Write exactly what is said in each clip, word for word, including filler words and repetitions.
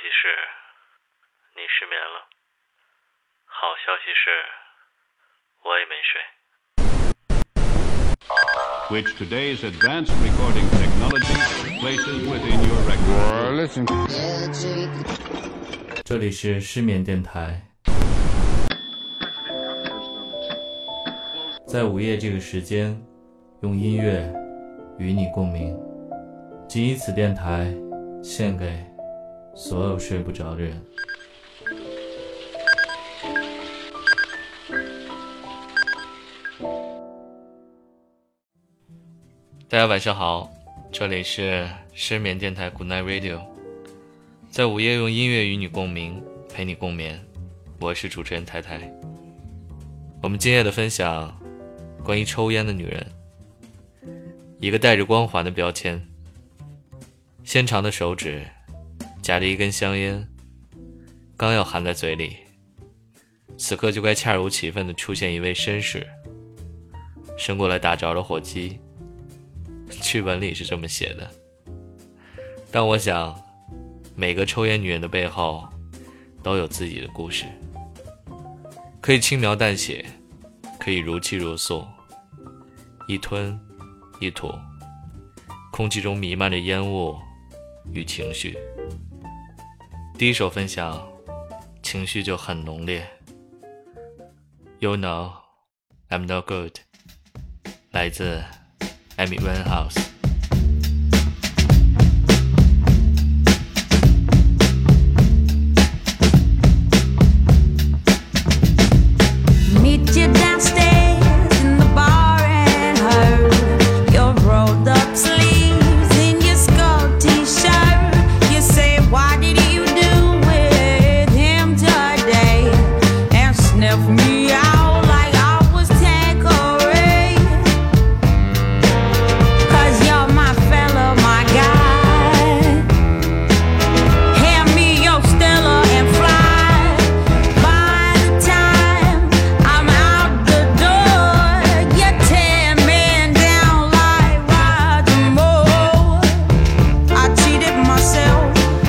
息是你失眠了，好消息是我也没睡。 Which today's advanced recording technology places within your record. 这里是失眠电台，在午夜这个时间，用音乐与你共鸣。仅以此电台献给所有睡不着的人。大家晚上好，这里是失眠电台 Good Night Radio， 在午夜用音乐与你共鸣，陪你共眠。我是主持人太太。我们今夜的分享关于抽烟的女人，一个带着光环的标签，纤长的手指夹着一根香烟，刚要含在嘴里，此刻就该恰如其分地出现一位绅士，伸过来打着了火机。剧本里是这么写的，但我想每个抽烟女人的背后都有自己的故事，可以轻描淡写，可以如泣如诉，一吞一吐，空气中弥漫着烟雾与情绪。第一首分享情绪就很浓烈， You know I'm no good， 来自Amy Winehouse。 Meet you downstairs in the bar and heard your rolled up sleeves in your skull t-shirt. You say, what did you do with him today? And sniff me out like I was Tanqueray. Cause you're my fella, my guy. Hand me your Stella and fly. By the time I'm out the door, you're ten men down like Roger Moore. I cheated myself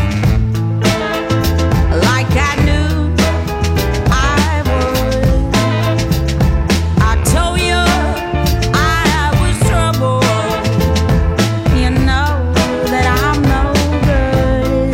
like I knew I would. I told you I was trouble. You know that I'm no good.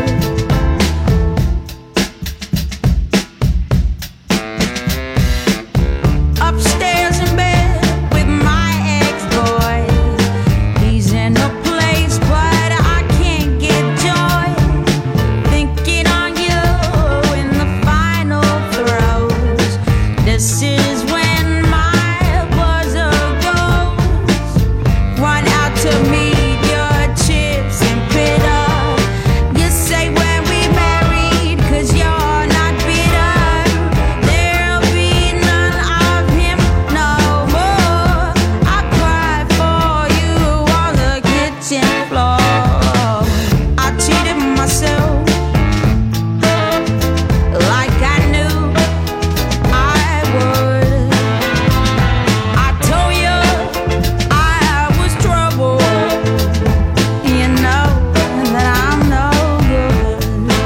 Upstairs in bed with my ex-boy. He's in a place, but I can't get joy. Thinking on you in the final throes. This is when my buzzer goes. Run out to meet your chips and pit up. You say when we married, cause you're not bitter. There'll be none of him no more. I cried for you on the kitchen floor. I cheated myself like I knew I would. I told you I was trouble. You know that I'm no good.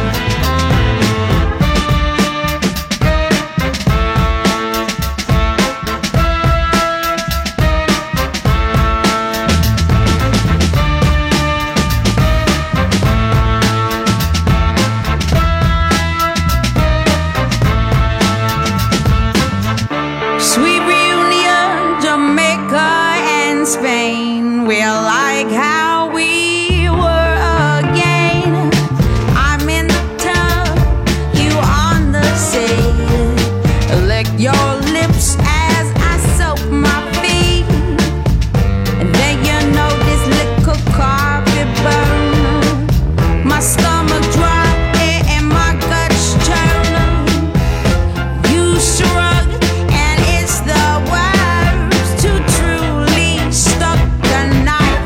Sweet reunion, Jamaica and Spain. We're like how we were again. I'm in the tub, you on the sea. Lick your lips as I soak my feet. And then you know this little carpet burn. My stomach dry and my guts churn. You shrug and it's the words to truly stuck the knife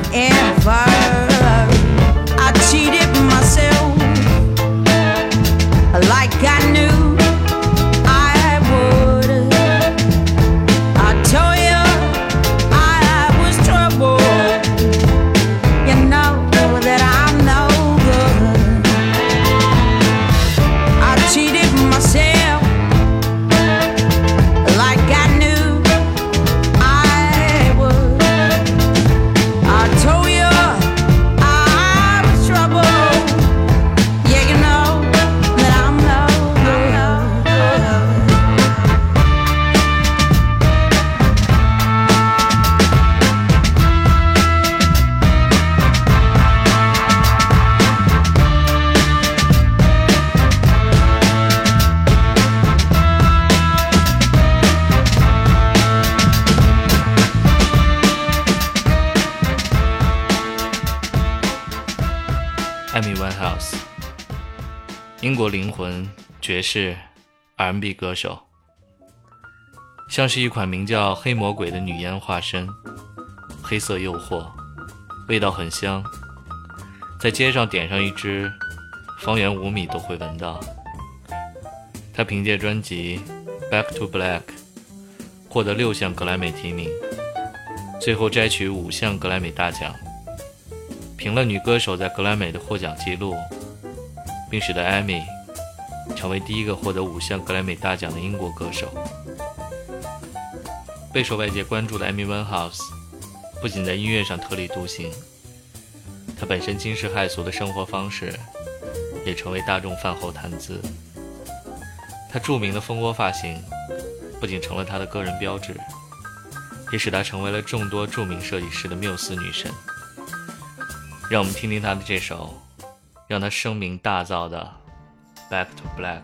英国灵魂，爵士 R and B 歌手，像是一款名叫黑魔鬼的女烟化身，黑色诱惑，味道很香，在街上点上一支，方圆五米都会闻到。他凭借专辑 Back to Black 获得六项格莱美提名，最后摘取五项格莱美大奖，平了女歌手在格莱美的获奖记录，并使得 Amy 成为第一个获得五项格莱美大奖的英国歌手。备受外界关注的 Amy Winehouse 不仅在音乐上特立独行，她本身惊世骇俗的生活方式也成为大众饭后谈资。她著名的蜂窝发型不仅成了她的个人标志，也使她成为了众多著名设计师的缪斯女神。让我们听听她的这首让她声名大噪的 Back to Black。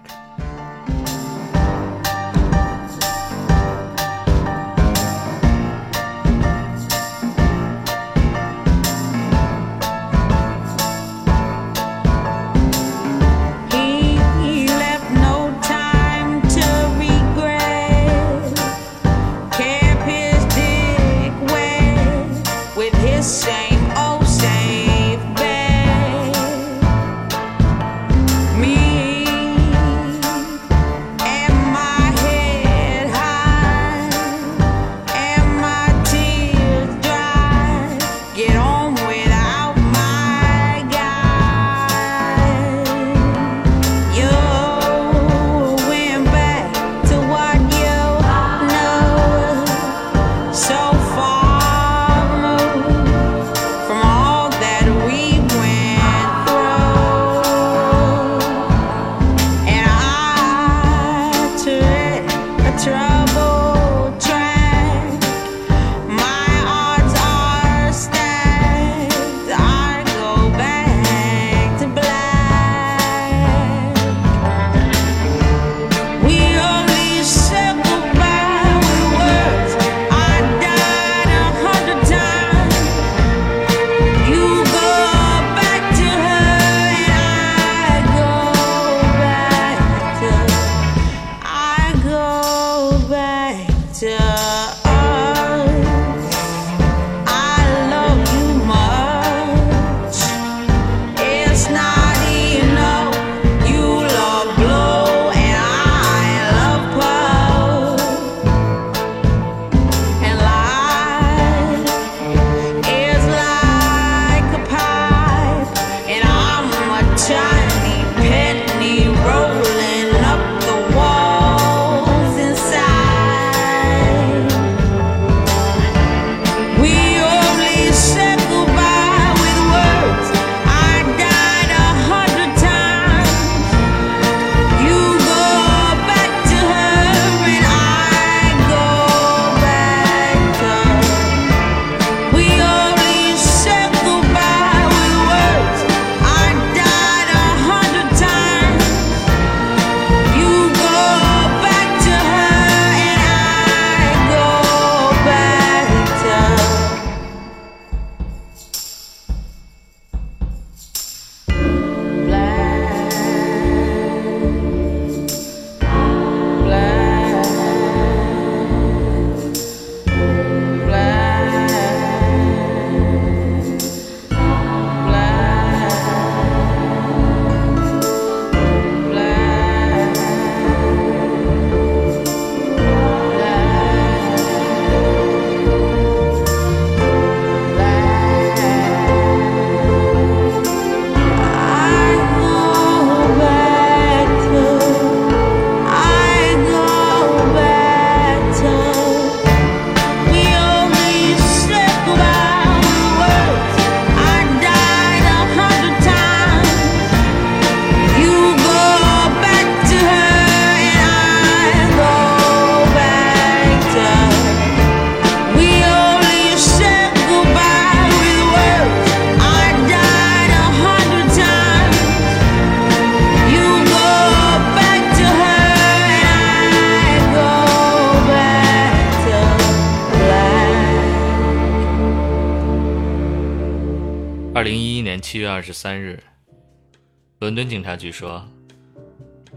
二零一一年七月二十三日，伦敦警察局说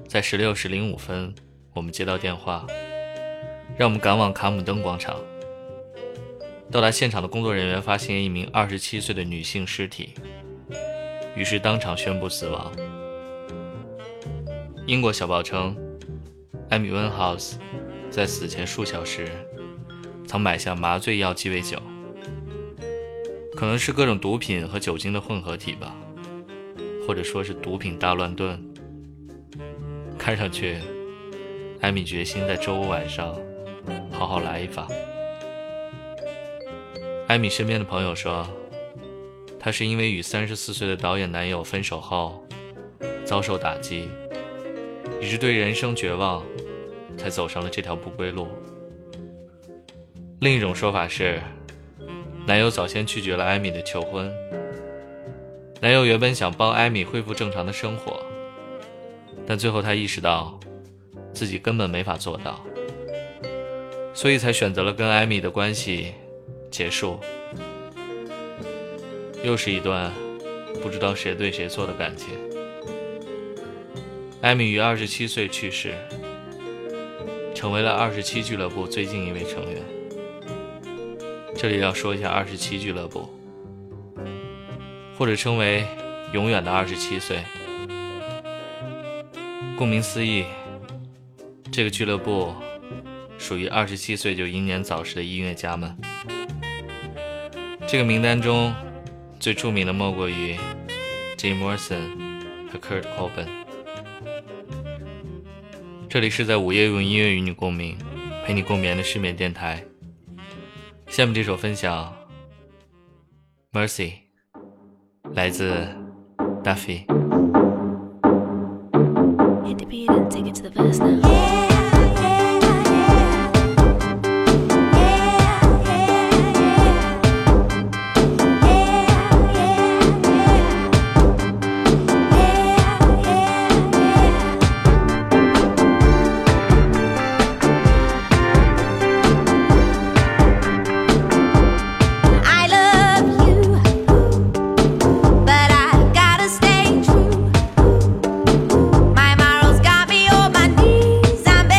在十六时零五分，我们接到电话，让我们赶往卡姆登广场。到达现场的工作人员发现一名二十七岁的女性尸体，于是当场宣布死亡。英国小报称，艾米温豪斯在死前数小时曾买下麻醉药鸡尾酒，可能是各种毒品和酒精的混合体吧，或者说是毒品大乱炖。看上去艾米决心在周五晚上好好来一发。艾米身边的朋友说，她是因为与三十四岁的导演男友分手后遭受打击，以致对人生绝望，才走上了这条不归路。另一种说法是，男友早先拒绝了艾米的求婚。男友原本想帮艾米恢复正常的生活，但最后他意识到自己根本没法做到，所以才选择了跟艾米的关系结束。又是一段不知道谁对谁错的感情。艾米于二十七岁去世，成为了二十七俱乐部最近一位成员。这里要说一下二十七俱乐部，或者称为永远的二十七岁。顾名思义，这个俱乐部属于二十七岁就英年早逝的音乐家们。这个名单中最著名的莫过于 Jim Morrison 和 Kurt Cobain。这里是在午夜用音乐与你共鸣，陪你共眠的失眠电台。下面这首分享 Mercy 来自 Duffy。 Hit the beat and take it to the verse now. My morals got me on my knees. I'm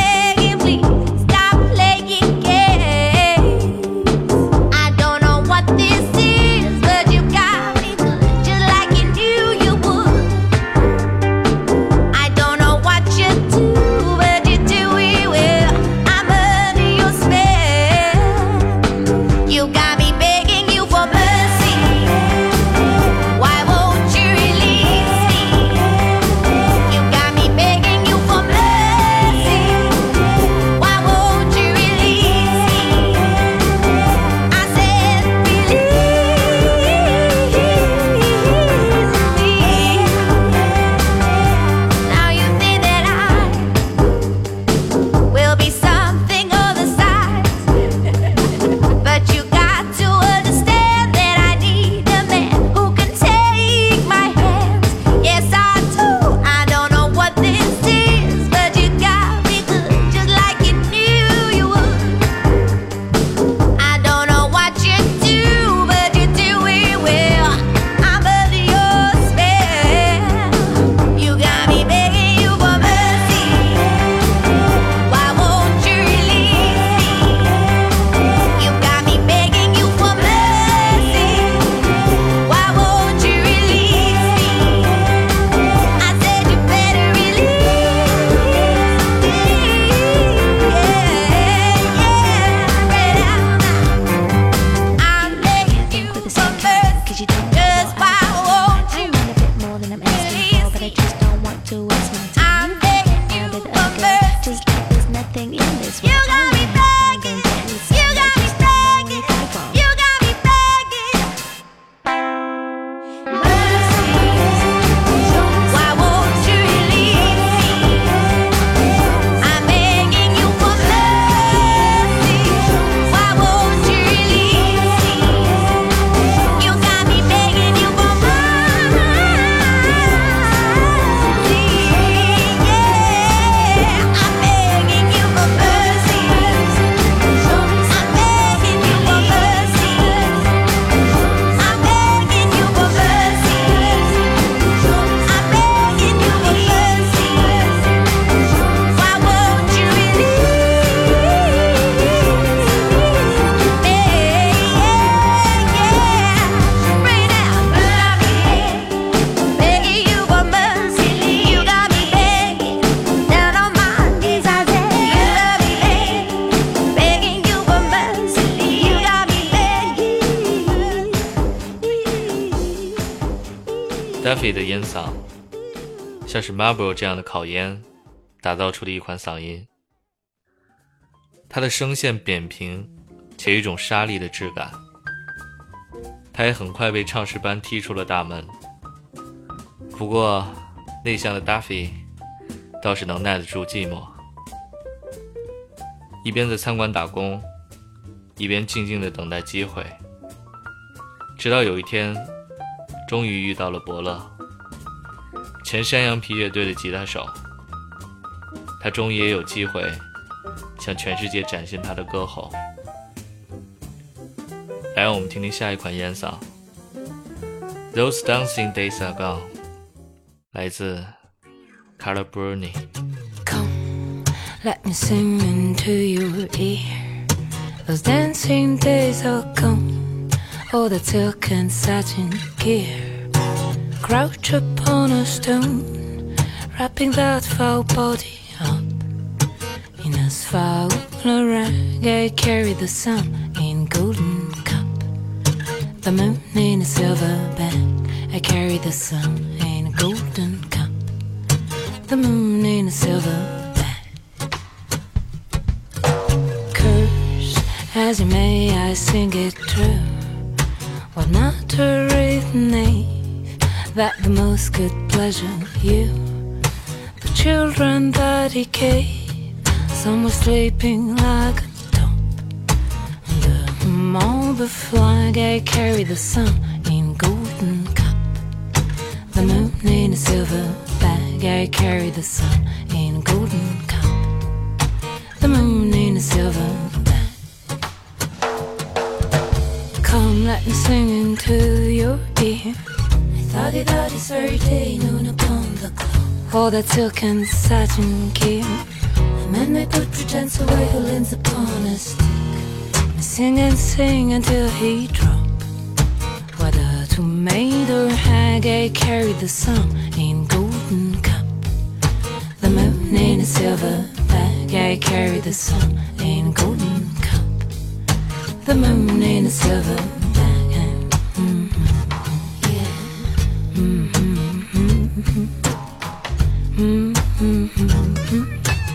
Daffy 的烟嗓像是 Marlboro 这样的烤烟打造出的一款嗓音，他的声线扁平且有一种沙砾的质感。他也很快被唱诗班踢出了大门，不过内向的 Daffy 倒是能耐得住寂寞，一边在餐馆打工，一边静静地等待机会，直到有一天终于遇到了伯乐，前山羊皮乐队的吉他手。他终于也有机会向全世界展现他的歌喉。来让我们听听下一款烟嗓 Those Dancing Days Are Gone， 来自 Carla Bruni。 Come, let me sing into your ear. Those dancing days are gone. All the silk and satin gear. Crouch upon a stone, wrapping that foul body up in asphalt rag. I carry the sun in golden cup, the moon in a silver bag. I carry the sun in a golden cup, the moon in a silver bag. Curse as you may, I sing it true. What matter if name that the most good pleasure you, the children that he gave, some were sleeping like a top. The marble flag, I carry the sun in golden cup, the moon in a silver bag. I carry the sun in a golden cup, the moon in a silver bag. Come, let me sing into your ear. Thotty-thotty, Saturday noon upon the clock. All that silk and satin gear. The man may put pretense away who leans upon a stick. I sing and sing until he drop. Whether to maid or hag, I carry the sun in golden cup, the moon in a silver bag. I carry the sun in golden cup, the moon in a silver bag. Mm-hmm. Yeah. Mm-hmm. Mm-hmm. Mm-hmm.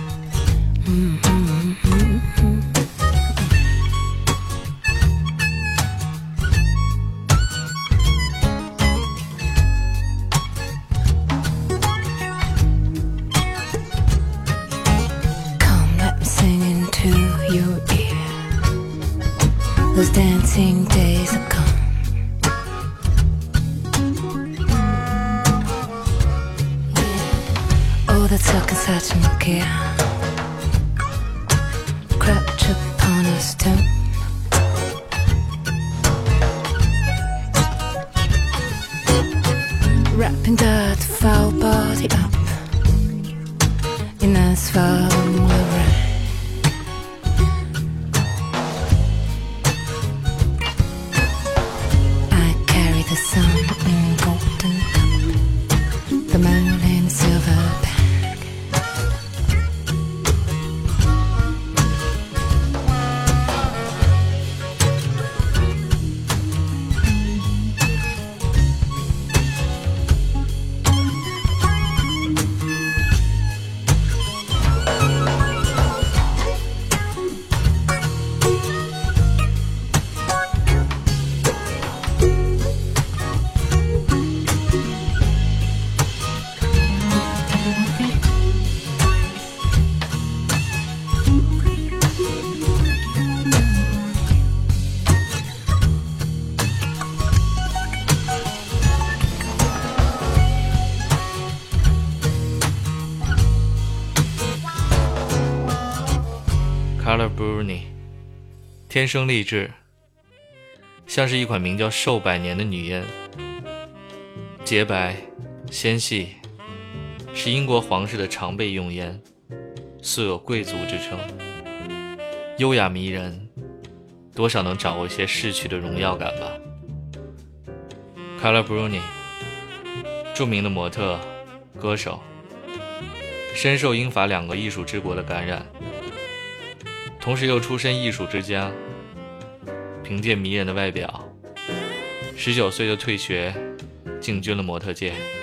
Those dancing days are gone. Yeah. Oh, that silk and satin gear. Crouch upon a stone. Wrapping that foul body up in asphalt rag. The sun in a golden cup, the moon in a silver bag. Carla Bruni， 天生丽质，像是一款名叫寿百年的女烟，洁白纤细，是英国皇室的常备用烟，素有贵族之称，优雅迷人，多少能掌握一些逝去的荣耀感吧。Carla Bruni， 著名的模特、歌手，深受英法两个艺术之国的感染，同时又出身艺术之家，凭借迷人的外表，十九岁就退学，进军了模特界。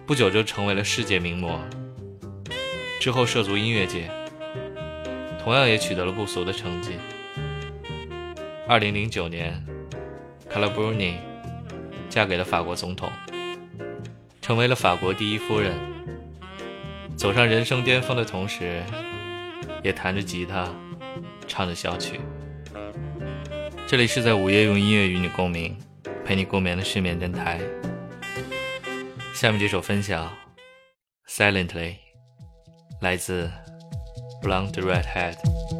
不久就成为了世界名模，之后涉足音乐界，同样也取得了不俗的成绩。二零零九年 Carla Bruni 嫁给了法国总统，成为了法国第一夫人，走上人生巅峰的同时，也弹着吉他唱着小曲。这里是在午夜用音乐与你共鸣，陪你共眠的失眠电台。下面这首分享 Silently 来自 Blonde Redhead。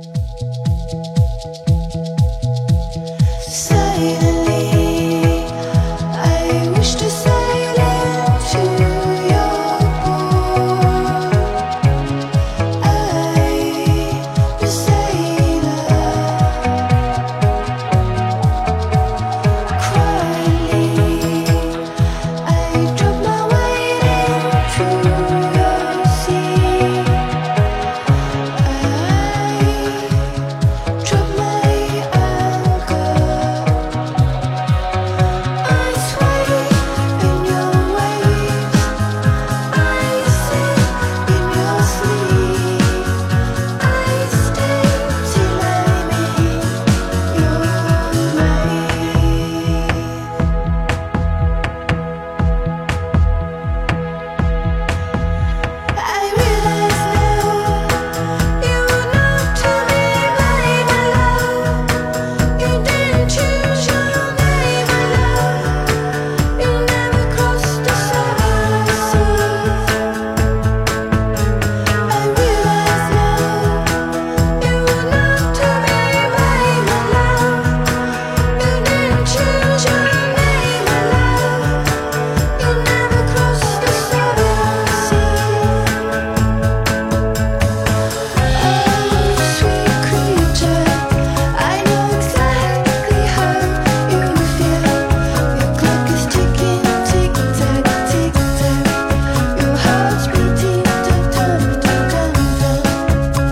Silently I wish to sail into your port. I'm a sailor, quietly I drop my weight into your sea. I drop my anchor. I sway in your waves. I sing in your sleep. I stay till I'm in your wave. I realize now you're not to me, my love. You didn't choose your name, my love. You never crossed the seven seas. I realize now you're not to me, my love. You didn't choose your name, my love. You never crossed the seven seas. Oh, sweet creature, I know exactly how you feel. Your clock is ticking, tick tock, tick tock. Your heart's beating, dum dum dum dum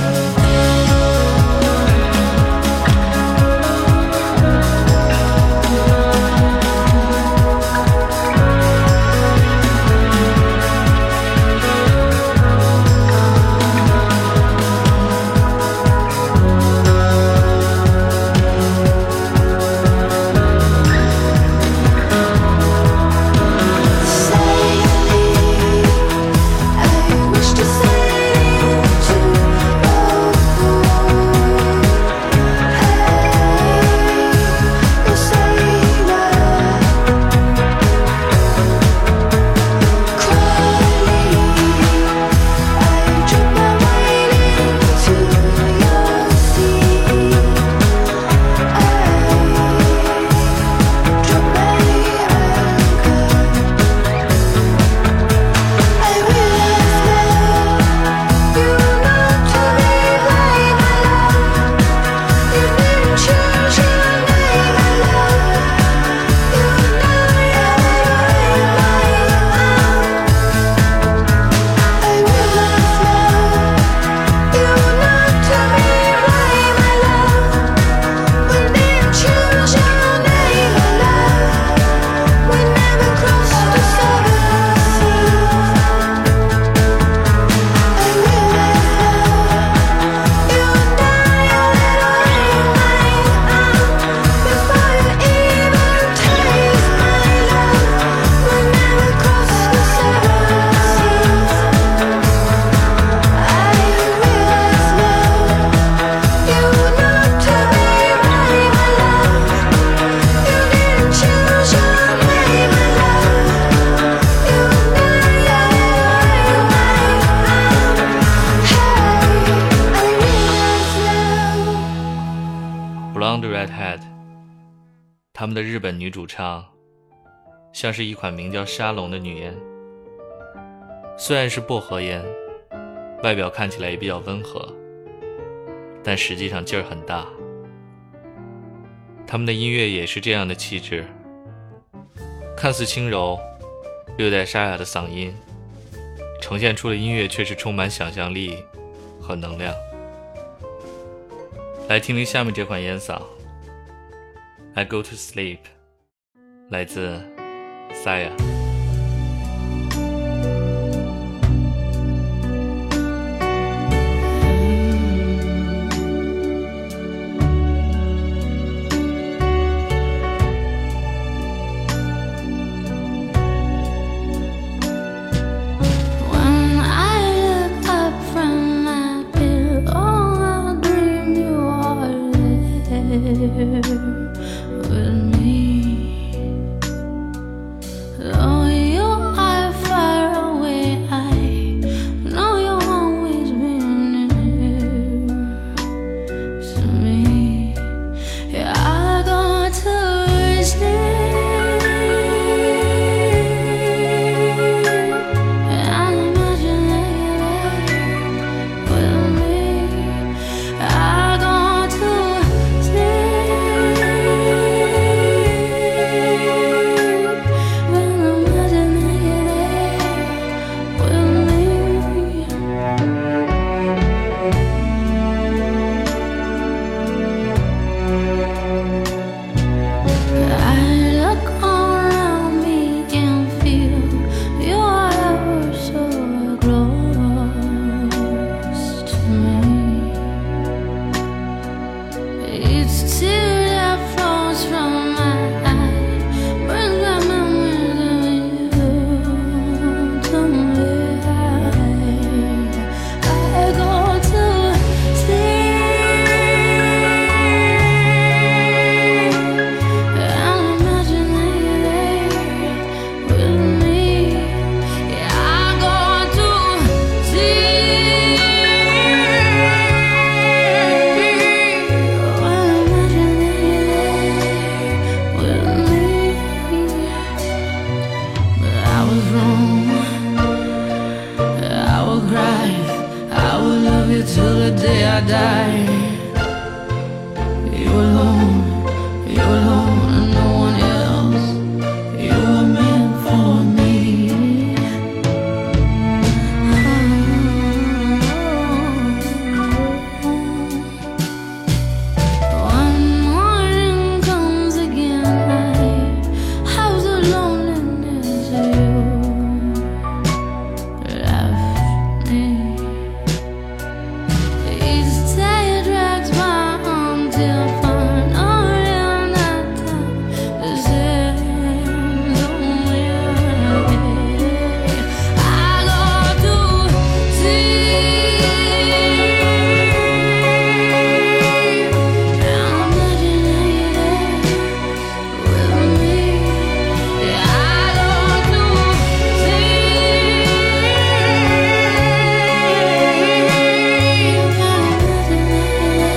Silently, I wish to sail into your port. I'm a sailor, quietly I drop my weight into your sea. I drop my anchor. I realize now you're not to me, my love. You didn't choose your name, my love. You never I realize now you're not to me, my love. We didn't choose your name, my love. We never crossed the seven seas. I realize now you and I are little before you even taste my love. We never crossed the seven seas. I realize now you're not to me, my love. You didn't choose your name, my love. You and I are Hey, I realize now. Blonde Redhead 他们的日本女主唱像是一款名叫沙龙的女烟，虽然是薄荷烟，外表看起来也比较温和，但实际上劲儿很大。他们的音乐也是这样的气质，看似轻柔，略带沙哑的嗓音，呈现出的音乐却是充满想象力和能量。来听听下面这款烟嗓 I Go to Sleep 来自 Saya。 with me. Though you are far away, I know you'll always be near to me. Yeah, I go to sleep and imagine that you're there with me. I go to sleep and imagine that you're there with me. I look around me and feel you are ever so close to me. Each tear that flows from my eye brings back memories of you to me. I go to sleep and imagine that you're there with me. Yeah, I go to sleep and imagine that you're there with me. But I was wrong. I will cry. I will love you till the day I die. You alone, you alone, and no one else. You were meant for me. One morning comes again. I have the loneliness you left me. Each day drags by until finally I'm not time to stand on me. I go to sleep and imagine that you're there with me. Yeah, I go to sleep and imagine that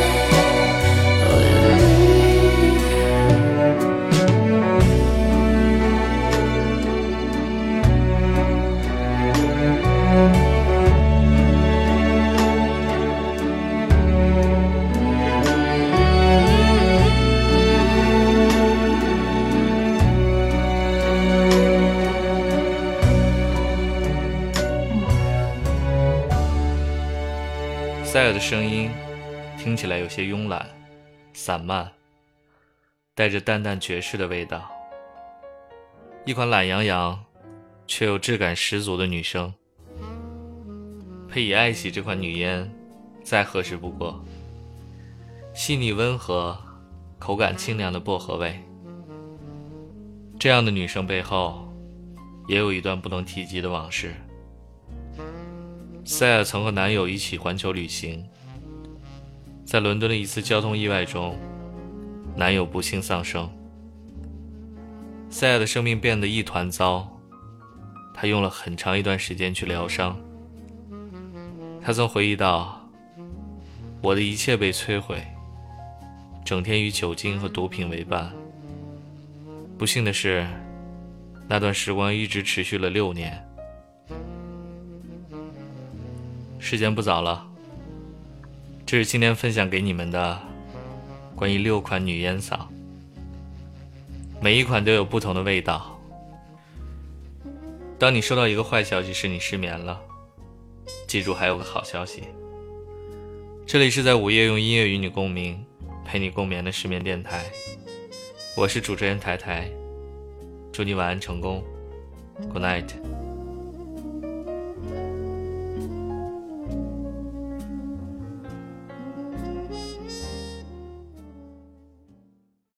塞尔的声音听起来有些慵懒、散漫，带着淡淡爵士的味道。一款懒洋洋却又质感十足的女声，配以爱喜这款女烟，再合适不过。细腻温和，口感清凉的薄荷味。这样的女生背后，也有一段不能提及的往事。塞尔曾和男友一起环球旅行，在伦敦的一次交通意外中，男友不幸丧生。塞尔的生命变得一团糟，他用了很长一段时间去疗伤。他曾回忆道，我的一切被摧毁，整天与酒精和毒品为伴。不幸的是，那段时光一直持续了六年。时间不早了，这是今天分享给你们的关于六款女烟嗓，每一款都有不同的味道。当你收到一个坏消息时，你失眠了，记住还有个好消息。这里是在午夜用音乐与你共鸣，陪你共眠的失眠电台，我是主持人台台，祝你晚安成功 Good night。